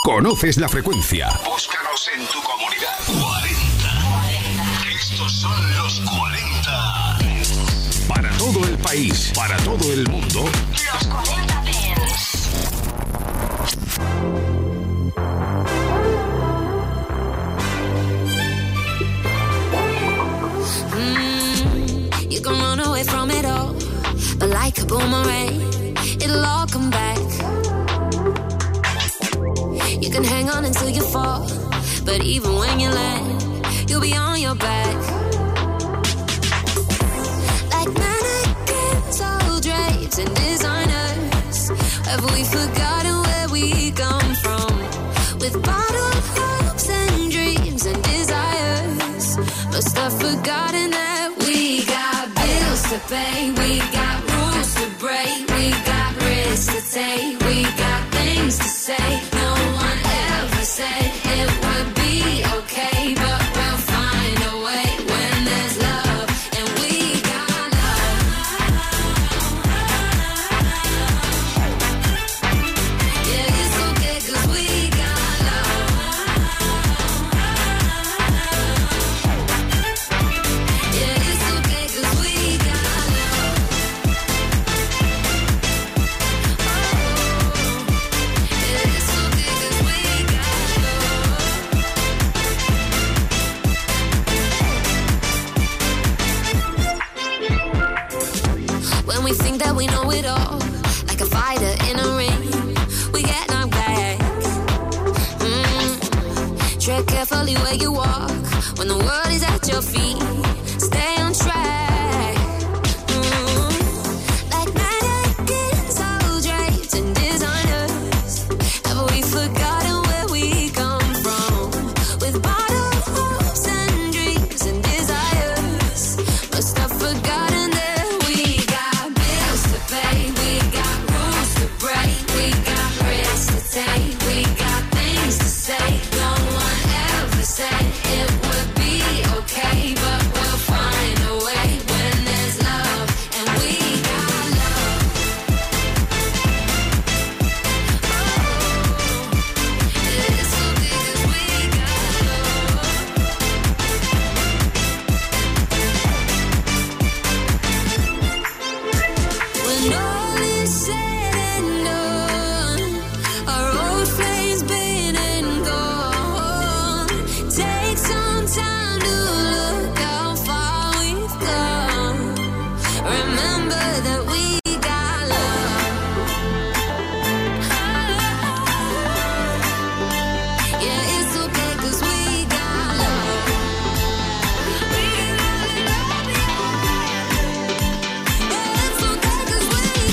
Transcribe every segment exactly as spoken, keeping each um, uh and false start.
Conoces la frecuencia. Búscanos en tu comunidad. cuarenta. Estos son los cuarenta. Para todo el país, para todo el mundo. Los cuarenta Dance. Mm, you can run away from it all, but like a boomerang, it'll all come back. You can hang on until you fall, but even when you land, you'll be on your back. Like mannequins, all drapes and designers, have we forgotten where we come from? With bottled hopes and dreams and desires, must have forgotten that we got bills to pay, we got rules to break, we got risks to take, we got things to say. No one ever said it would be okay, but we'll find a way when there's love, and we got love. Yeah, it's okay 'cause we got love. Yeah, it's okay 'cause we got love. Yeah, it's okay 'cause we got love. When we think that we know it all, like a fighter in a ring, we get knocked back. Mm. Tread carefully where you walk, when the world is at your feet, stay on track. Mm. Like mannequins, all draped and designers, have we forgotten where we come from? With bottled hopes and dreams and desires, must have forgotten that we got bills to pay, we got rules to break, we got risks to take, we got things to say. No one ever said it would be okay, but we'll find a way when there's love, and we got love. Oh, it's okay 'cause we got love. When all is said and done, our old flames been and gone. Take some time to look how far we've come. Remember that we got love. Yeah, it's okay 'cause we got love. We got love, yeah. Yeah, it's okay 'cause we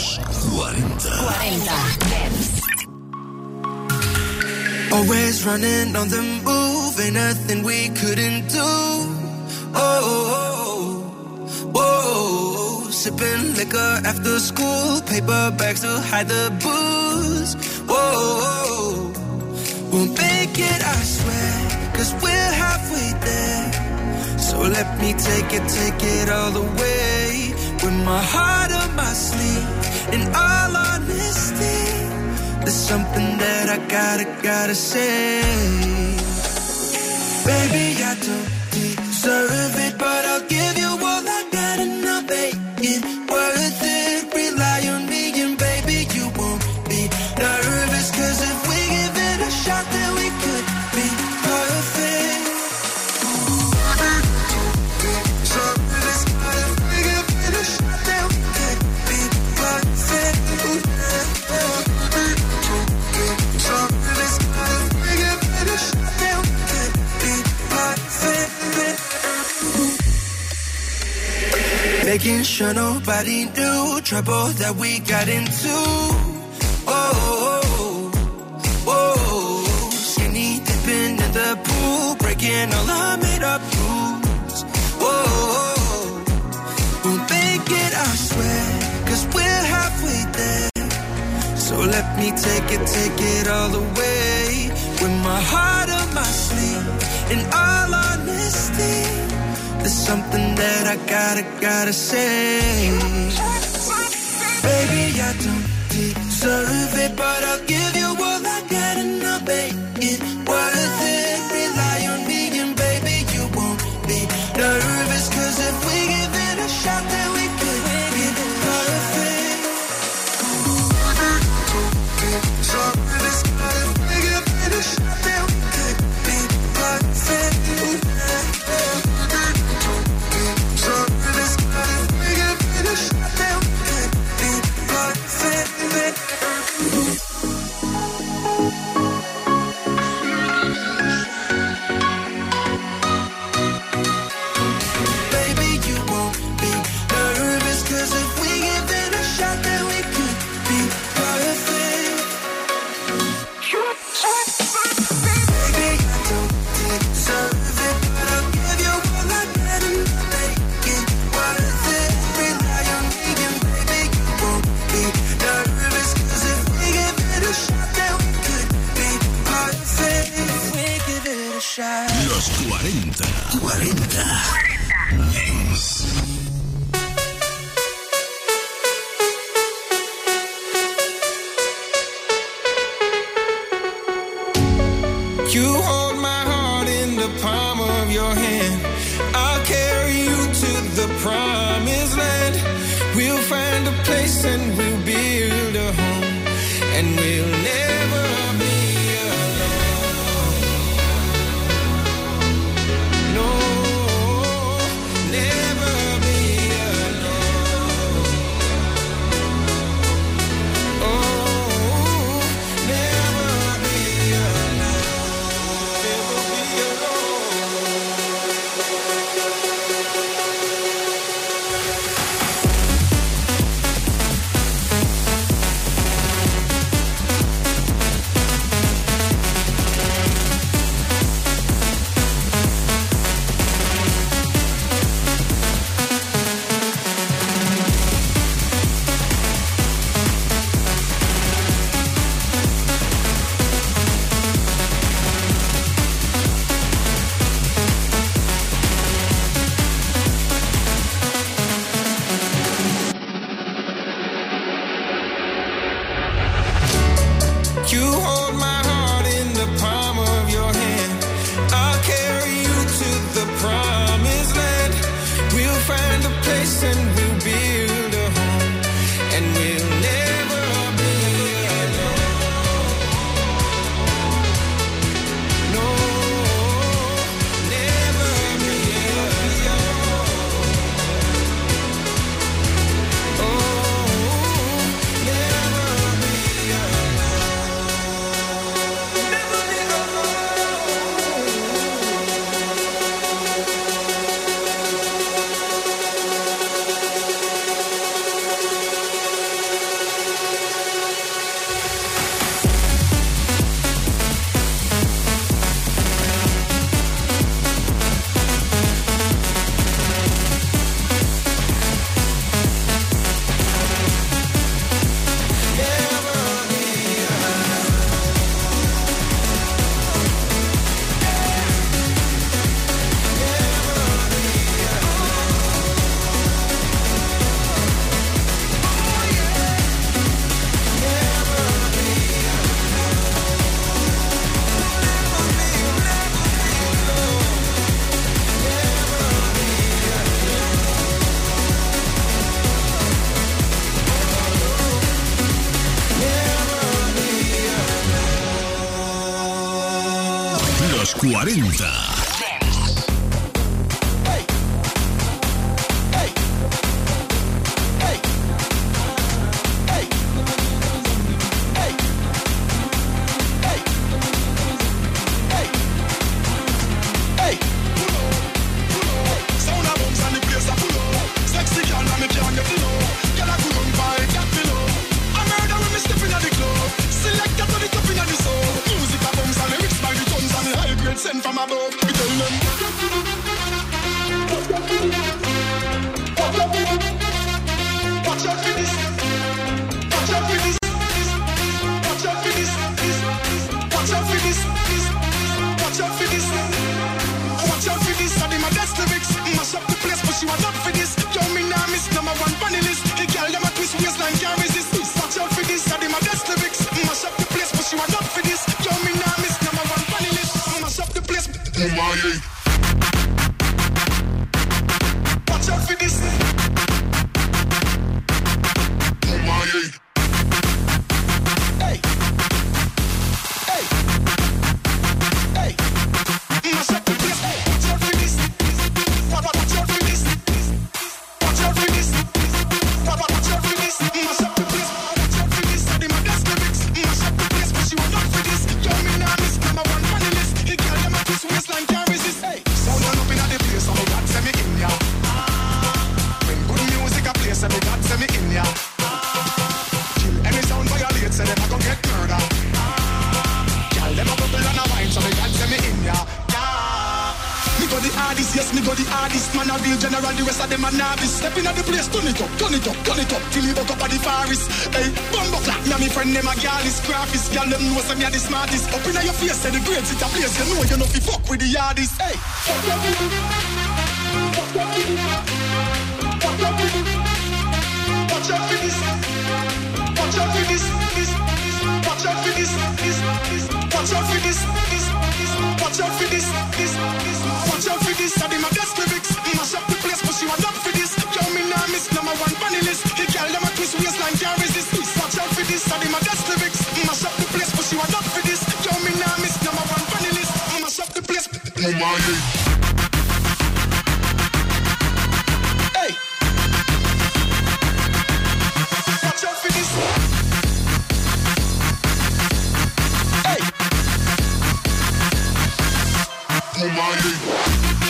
Los cuarenta. cuarenta. Always running on the move, ain't nothing we couldn't do. Oh, oh, oh, oh. Sipping liquor after school, paper bags to hide the booze. Whoa, oh, we'll make it, I swear, cause we're halfway there. So let me take it, take it all the way. With my heart on my sleeve, in all honesty, there's something that I gotta, gotta say. Baby, I don't deserve it, but I'll give you all I got and I'll make it worth it. Rely on me and baby, you won't be nervous, cause if we give it a shot, then we could be perfect. So this if we give it a shot, then we could be perfect. So this if we give it a shot, then we could be perfect. Making sure nobody knew trouble that we got into. Oh, oh, oh, oh. Skinny dipping in the pool, breaking all our made up rules. Oh, oh, we'll make it, I swear, cause we're halfway there. So let me take it, take it all the way. With my heart on my sleeve, in all honesty, there's something that I gotta, gotta say. Baby, I don't deserve it, but I'll give you all I got and I'll make it worth it. Rely on me and baby, you won't be nervous, cause if we give it a shot, then we could be perfect. So this if we give it a shot, then we could be perfect. Los cuarenta. cuarenta. Dance. You hold my heart in the palm of your hand. I'll carry you to the promised land. We'll find a place and we'll build a home, and we'll never be alone. No, never be alone. Oh, never be alone. Never be alone. You hold my heart in the palm of your hand. I'll carry you to the promised land. We'll find a place and we'll build a home, and we'll never be alone. No, never be alone. Oh, never be alone. cuarenta. Send from above, we tell them. Watch out for this. Watch out for this. Watch out for this. Watch out for this. Watch out for this. Watch out for this. I did my best lyrics. Mash up the place, but she was not for this. Yo, me now miss number one funny list. The girl them a twist waistline can't resist. Watch out for this. I did my best lyrics. Mash up the place, but she was not for this. Yo, me now miss number one funny list. Mash up the place. Oh my. Watch out for this. Oh my. Hey. Hey. Hey. Mash up the place. Watch out for this. Watch out for this. Watch out for this. Watch out for this. Mash up the place. Watch out for this. I did my best lyrics. Mash up the place, but she was not for this. Yo, me now miss number one funny list. The girl them a twist waistline can't resist. Hey. Sound on up in the place, so me God send me in ya. When good music a play, so me God send me in ya. Kill any sound violate, so them a gon' get murder. Girl them a bubble and a wine, so me God send me in ya. Me go the hardest, yes, me go the hardest. Man a real general, the rest of them a novice. Step in at the place, turn it up, turn it up, turn it up. Till me buck up at the forest. Hey, bumbo clap, me and me friend them a girl is graphist. Girl them know say me a the smartest. Up in your face, say the grades it a place. You know you know fi fuck with the hardest. Hey, watch out for this. Watch out for this. Watch out for this. Watch out for this. Watch out for this. Watch out for this. I did my best lyrics. Mash up the place, but she was up for this. Yo, me now miss number one funny list. The girl them a twist waistline can't resist. Watch out for this. I did my best lyrics. Mash up the place, but she was up for this. Yo, me now miss number one funny list. Mash up the place. Oh my. Hey. Watch out for this. Hey. Oh my.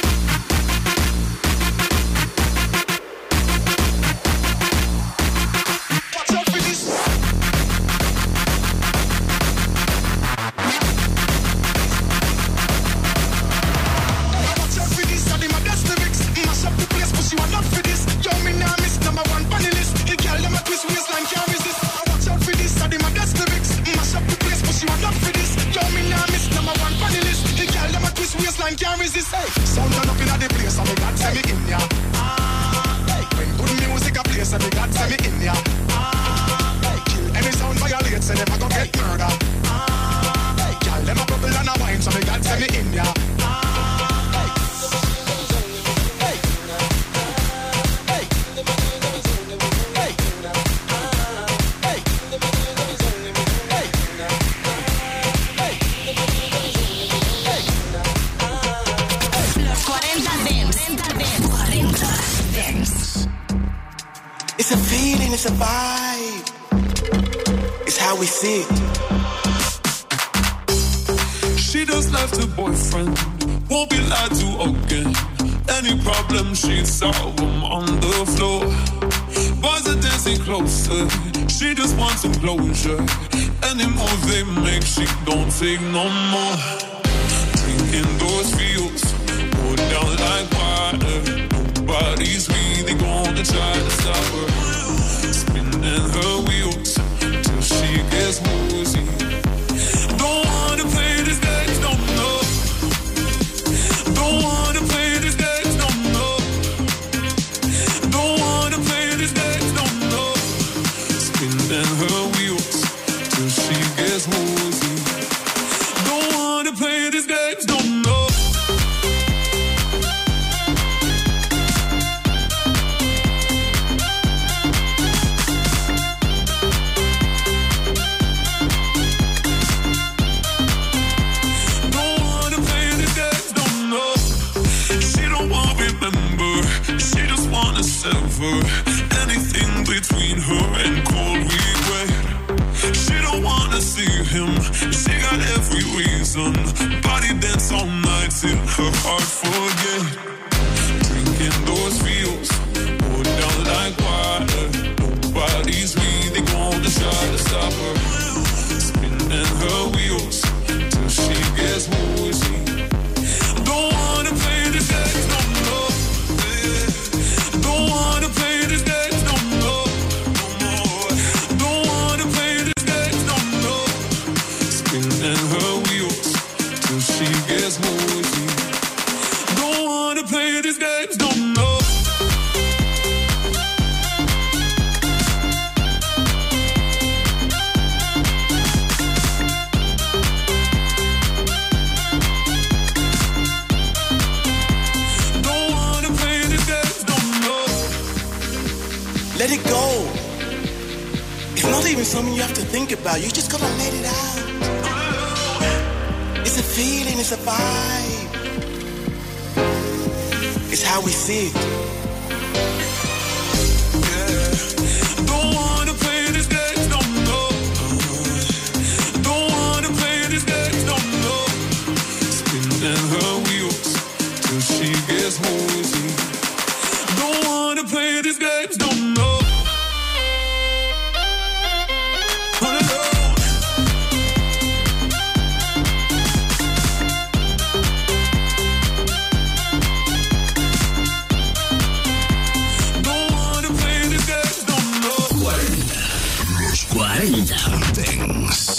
Can't resist, hey. Sound turn up in the place, and me God send me in ya. Hey. When good music a play, and me God send me in ya. Hey. Kill any sound violate, so them a go get murder. Hey. Girl, them a bubble and a wine, so me God send me in ya. It's a feeling, it's a vibe. It's how we see it. She just left her boyfriend, won't be lied to again. Any problem she'd solve them on the floor. Boys are dancing closer, she just wants some closure. Any move they make, she don't take no more. Drinking those fields, go down like water. Nobody's really gonna try to stop her. Spinning her wheels till she gets woozy. Don't wanna play this game, no, no. Don't wanna play this game, no, no. Don't wanna play this game, no, no. Spinning her wheels till she gets woozy. Don't wanna play this game, no, no. never anything between her and cold regret. She don't wanna see him, she got every reason. Body dance all night till her heart forget. Drinking those feels, pour down like water. Nobody's really gonna try to stop her. Spinning her wheels till she gets woozy. Don't wanna play this game no more. Don't wanna play this game no more. No more. Don't wanna play this game no more. Spinning her wheels till she gets woozy. Don't wanna play this game no more. Let it go. It's not even something you have to think about. You just gotta let it out. It's a feeling, it's a vibe. It's how we see it. Yeah. Don't wanna play this game no more. Don't wanna play this game no more. Spinning her wheels till she gets woozy. Don't wanna play this game no more. cuarenta Dance.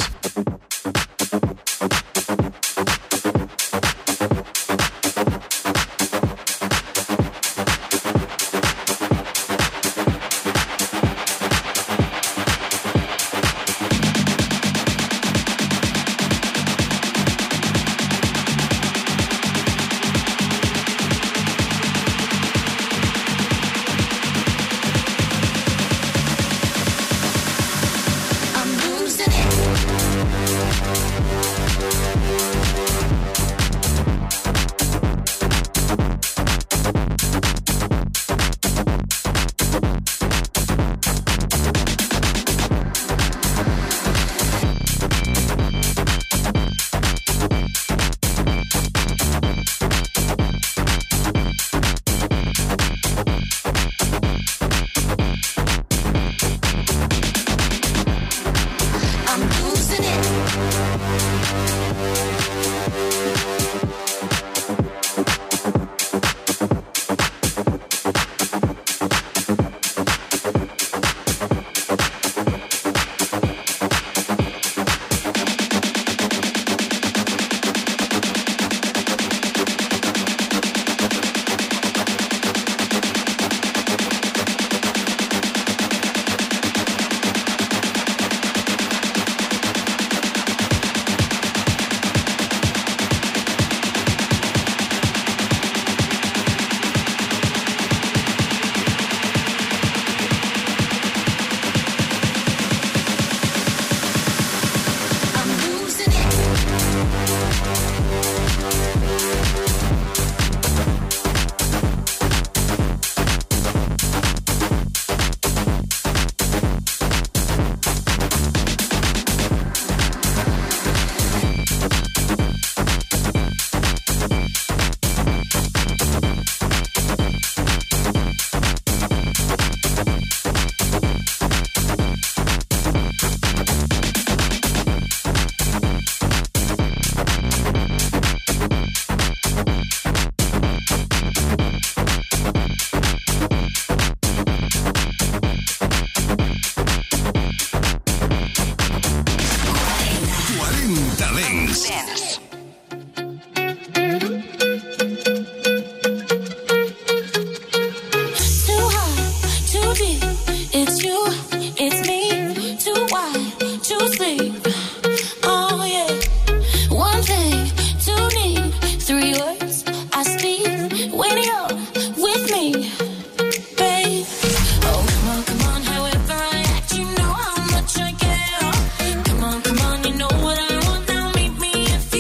If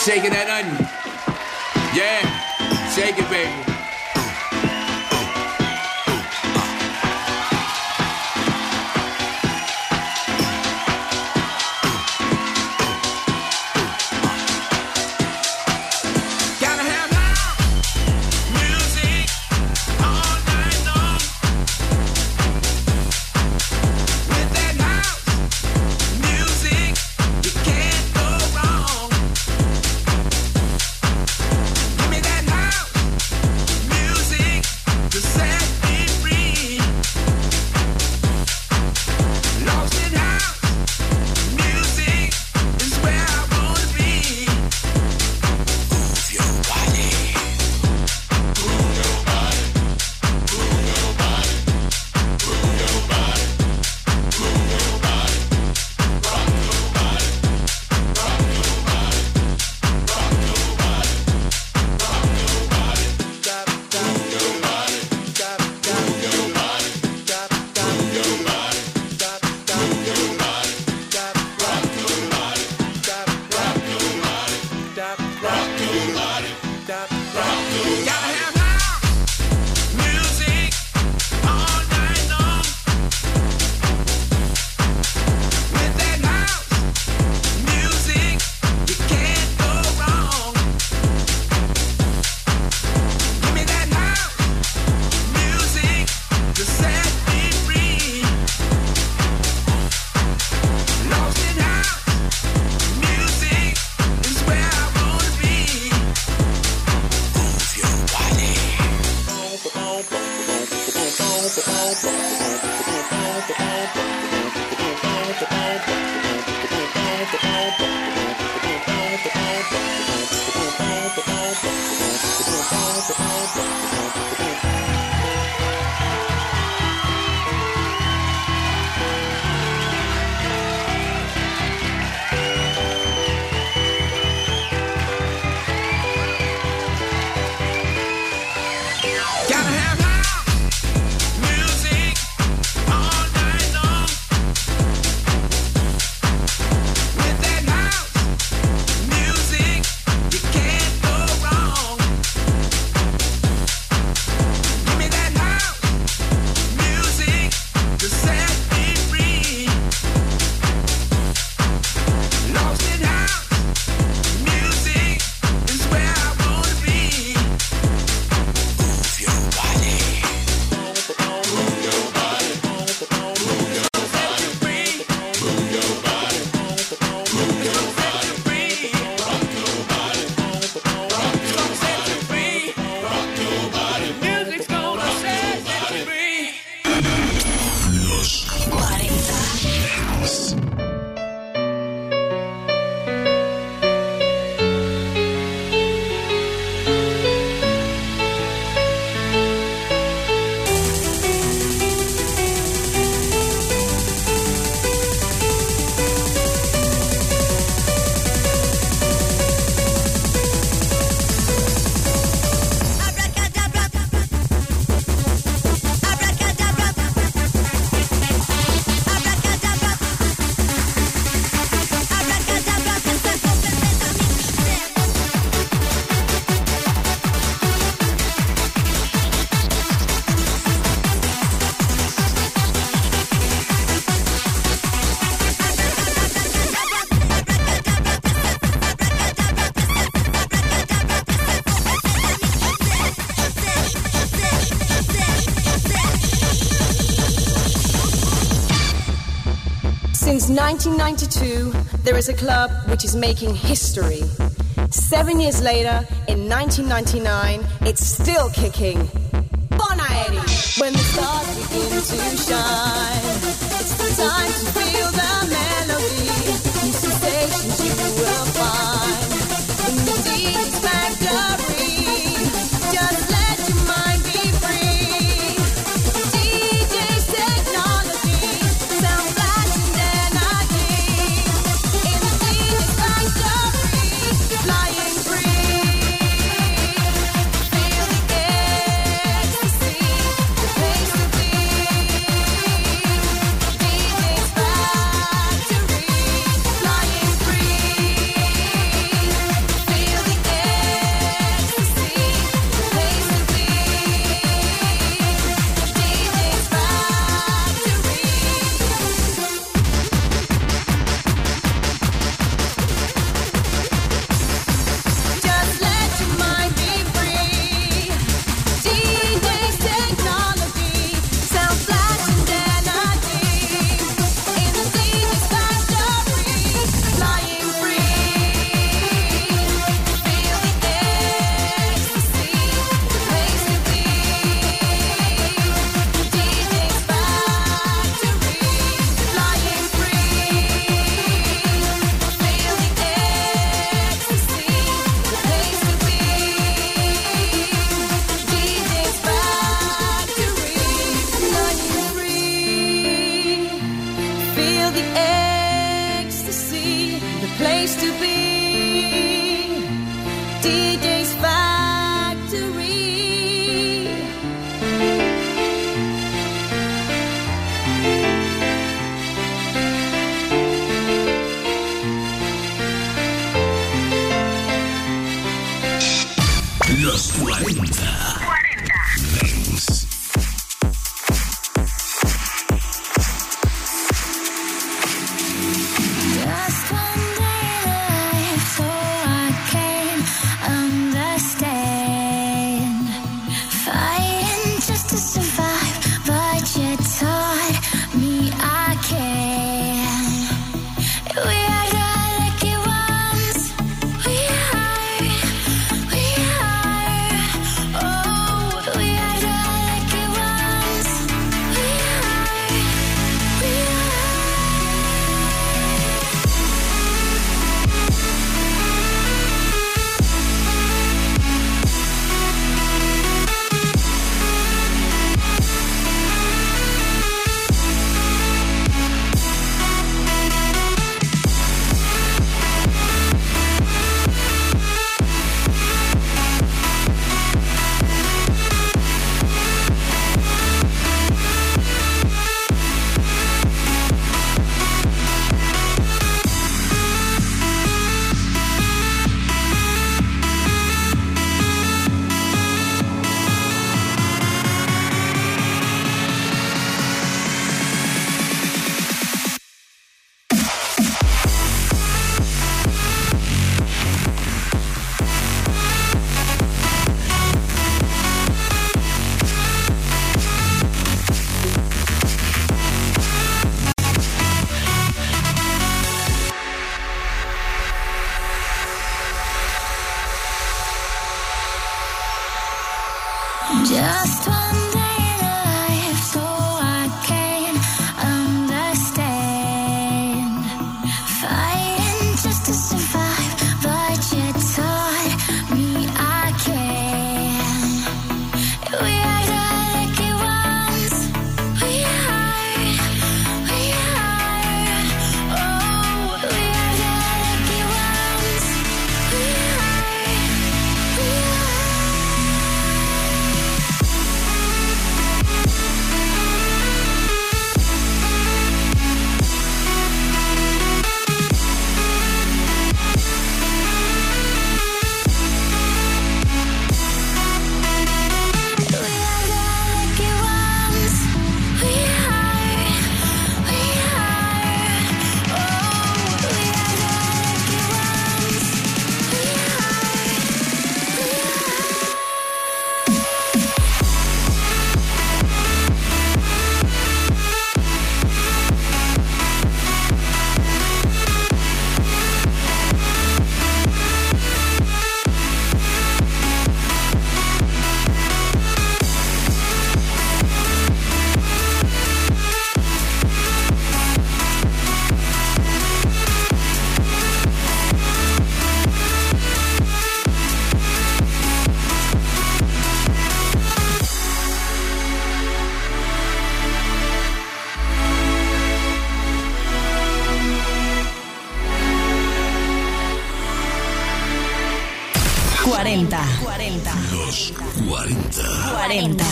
Shaking that onion. Yeah, shake it, baby. Since nineteen ninety-two, there is a club which is making history. Seven years later, in nineteen ninety-nine, it's still kicking. Bonaeri! When the stars begin to shine, it's the time to feel the melody. These sensations you will find in the D J's factory. Just let your mind be free. D J's technology, sound blast and energy. In the D J's factory, flying free. Feel the ecstasy, the place to be. the ecstasy, the place to be. D J's Factory. Los cuarenta. cuarenta. Dance. Just one day in life, so I can understand. Fighting just to survive, but you taught me I can. We are the lucky ones. We are. We are. Oh, we are the lucky ones. We are. We are. Just one day in life, so I can understand. Fighting just to survive, but you taught me I can. We are the lucky ones. We are. We are. Oh, we are the lucky ones. We are. We are. cuarenta. Los cuarenta. cuarenta.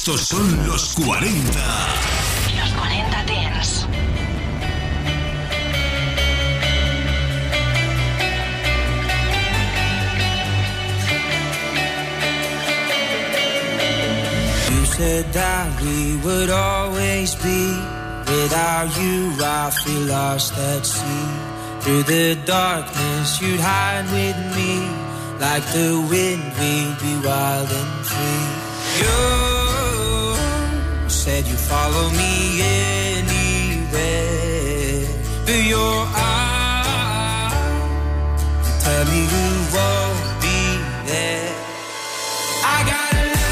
Estos son los cuarenta. Los cuarenta Dance. You said that we would always be. Without you, I feel lost at sea. Through the darkness, you'd hide with me. Like the wind, we'd be wild and free. You said you'd follow me anywhere. But your eyes tell me you won't be there. I got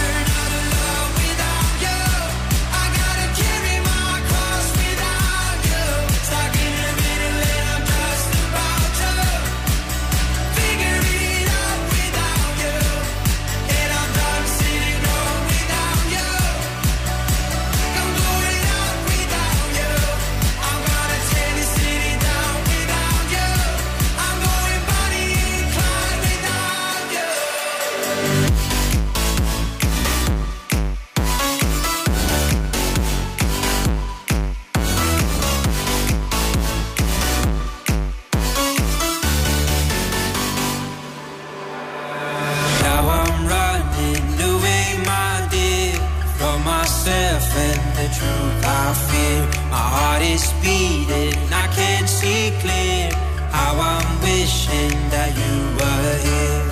truth I fear. My heart is beating, I can't see clear. How I'm wishing that you were here.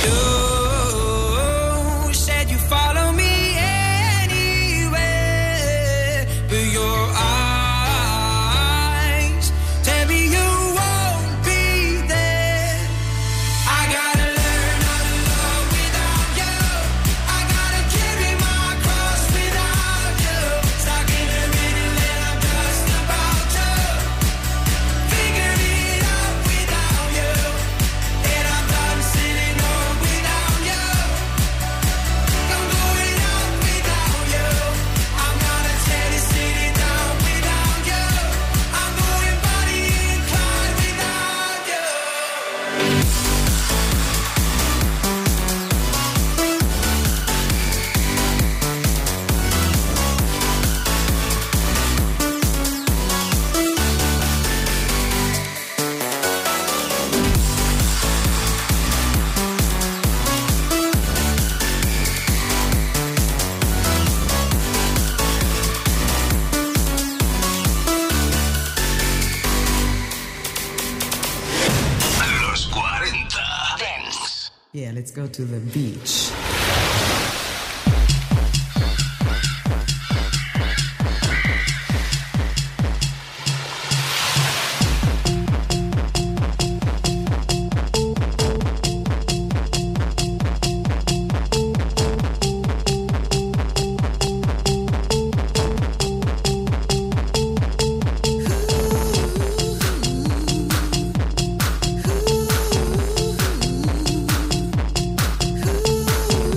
You said you follow me anywhere, but your eyes tell me you won't be there. I gotta learn how to love without you. I gotta carry my cross without you. Stuck in the middle and I'm just about to figure it out without you. And I'm done sitting home without you. I'm going out without you. I'm gonna tear this city down without you. I'm going body inclined without you. Los cuarenta Dance. Yeah, let's go to the beach. Ooh.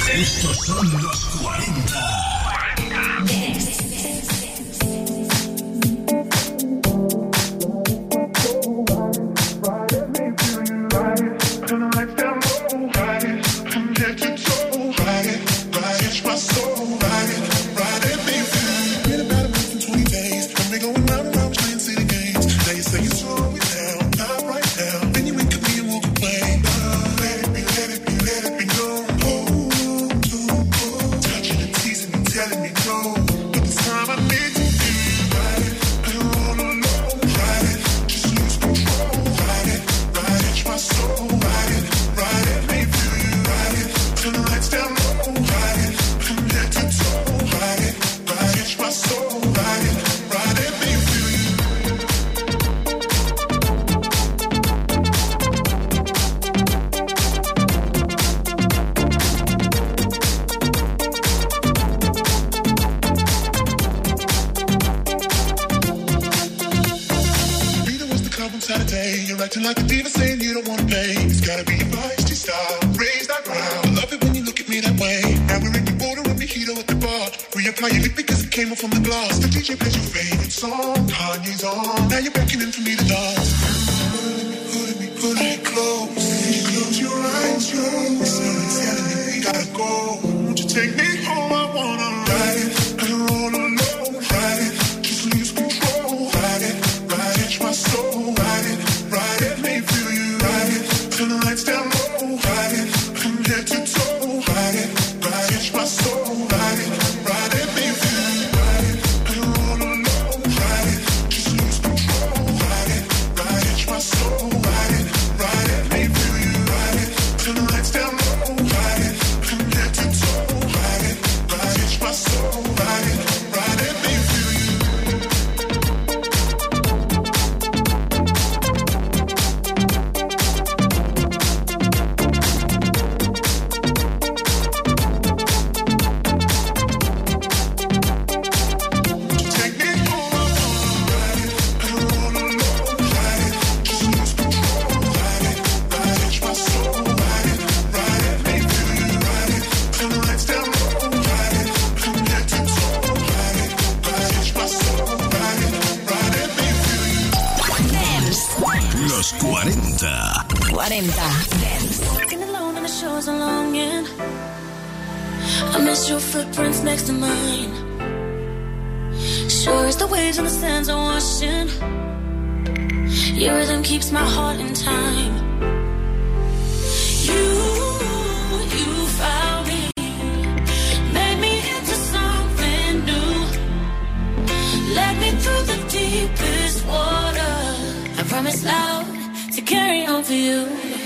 Estos son los cuarenta. Like a diva saying you don't wanna pay. It's gotta be your feisty style. Raise that ground. I love it when you look at me that way. Now we're in the border and mojito at the bar. Reapply your lip because it came off from the glass. The D J plays your favorite song. Kanye's on. Now you're beckoning for me to dance. Pulling me, pulling me, pulling me close. Close your eyes, close. Someone's telling me we gotta go. Won't you take me home? I wanna ride it. And roll alone. Ride it. Just lose control. Ride it. Ride it. My soul. Ride it. Ride it, let me feel you. Ride it, turn the lights down low. Ride it, from head to toe. Ride it, ride it, my soul. Ride it, ride it, let me feel you. Ride it, and roll alone. Ride it, just lose control. Ride it, ride it, my soul. Ride it, ride it, let me feel you. Ride it, turn the lights down low. Ride it, from head to toe. Ride it, ride it, my soul. Ride it, ride it, let me feel you. Los cuarenta. cuarenta. Walking alone on the shores of longing. I miss your footprints next to mine. Sure as the waves and the sands are washing. Your rhythm keeps my heart in time. You, you found me, made me into something new. Led me through the deepest water. I promise loud to carry on for you.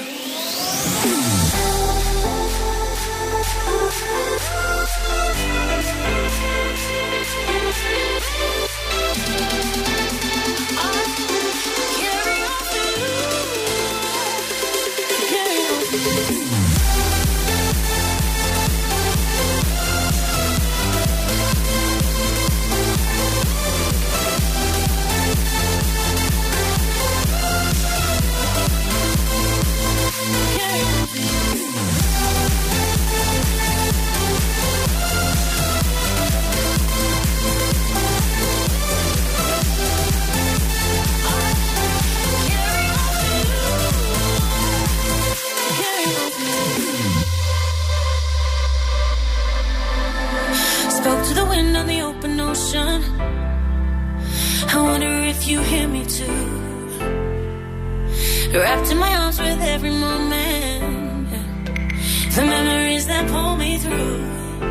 Spoke to the wind on the open ocean. I wonder if you hear me too. Wrapped in my arms with every moment. The memories that pull me through.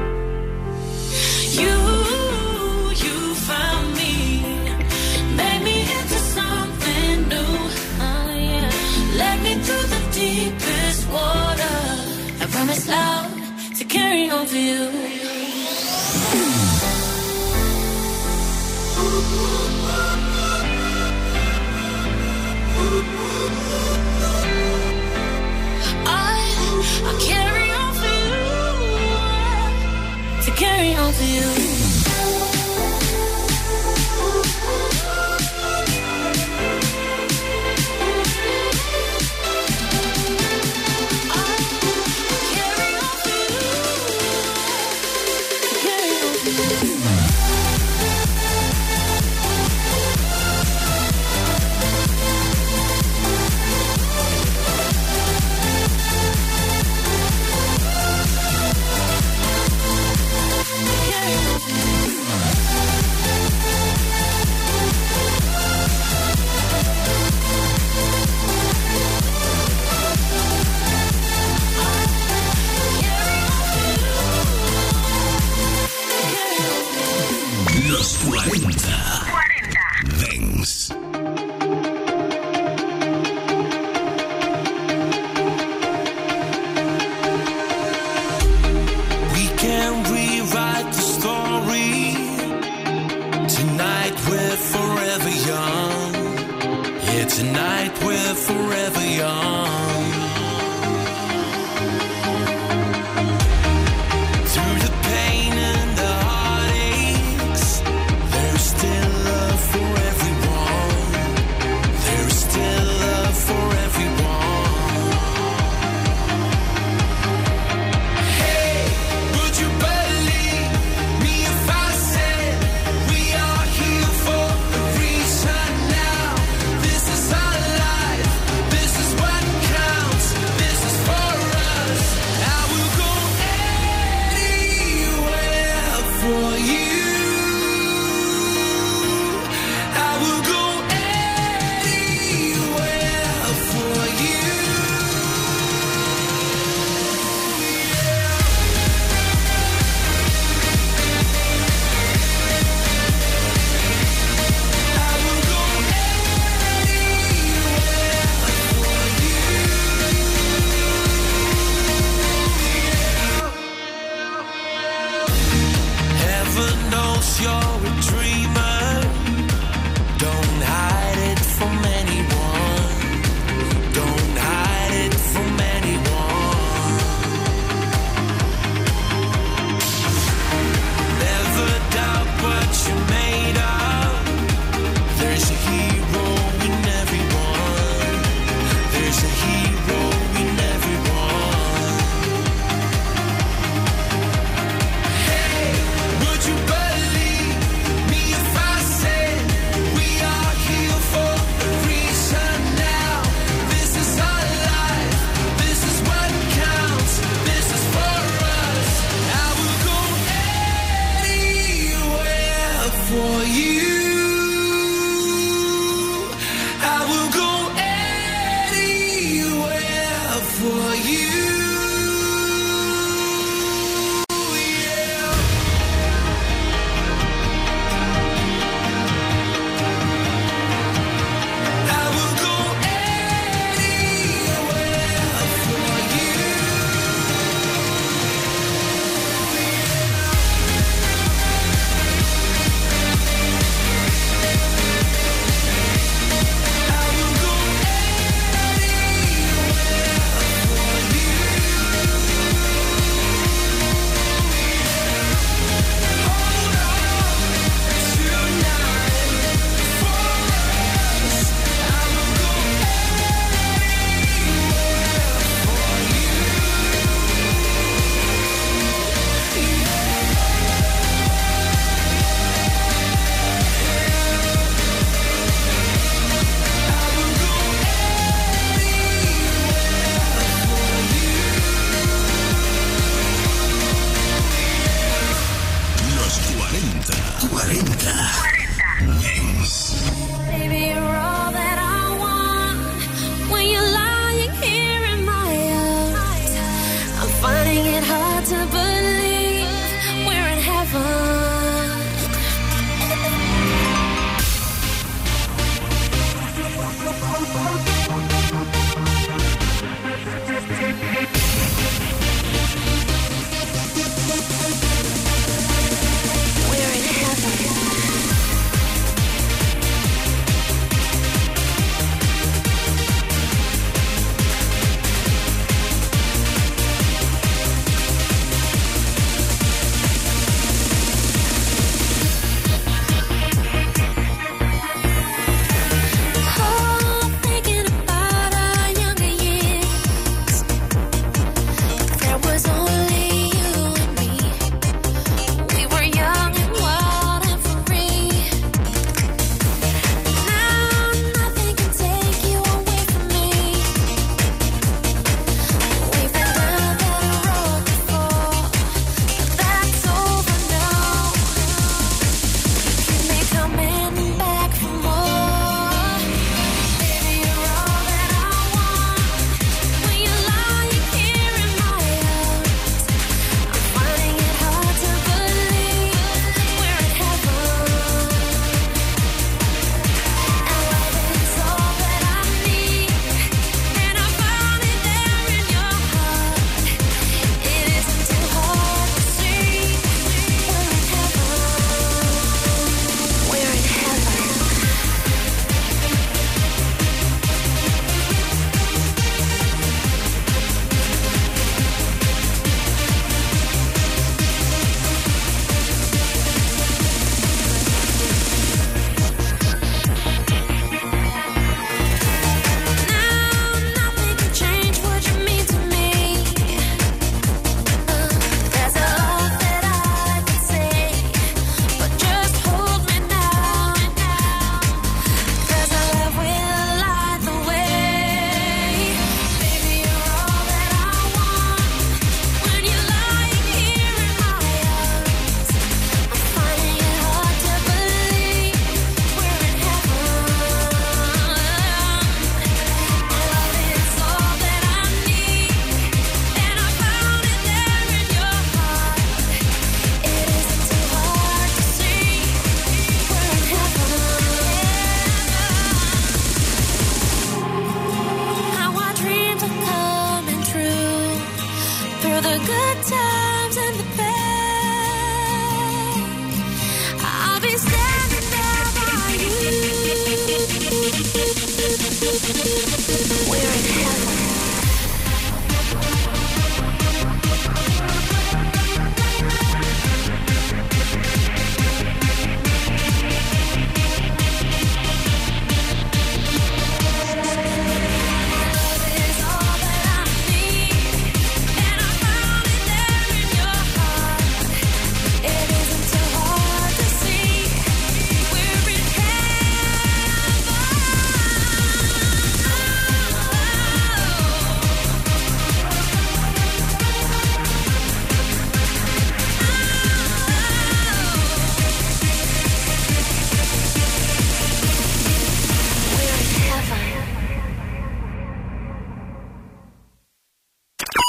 You, you found me, made me into something new. Oh yeah, led me through the deepest water. I promise loud to carry on for you. I, I carry on for you, to carry on for you. I, I carry on for you. cuarenta. cuarenta. Dance. We can rewrite the story. Tonight we're forever young. Yeah, tonight we're forever young. Through the pain and the heartaches, there's still love for everyone. There's still love for everyone. Hey, would you believe me if I said we are here for a reason now? This is our life, this is what counts, this is for us. I will go anywhere for you. I will go anywhere for you. I will go Heaven knows you're a dreamer. Don't hide it from anyone. Don't hide it from anyone. Never doubt what you're made of. There's a hero in everyone. There's a hero in everyone. Hey, would you believe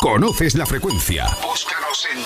Conoces la frecuencia. Búscanos en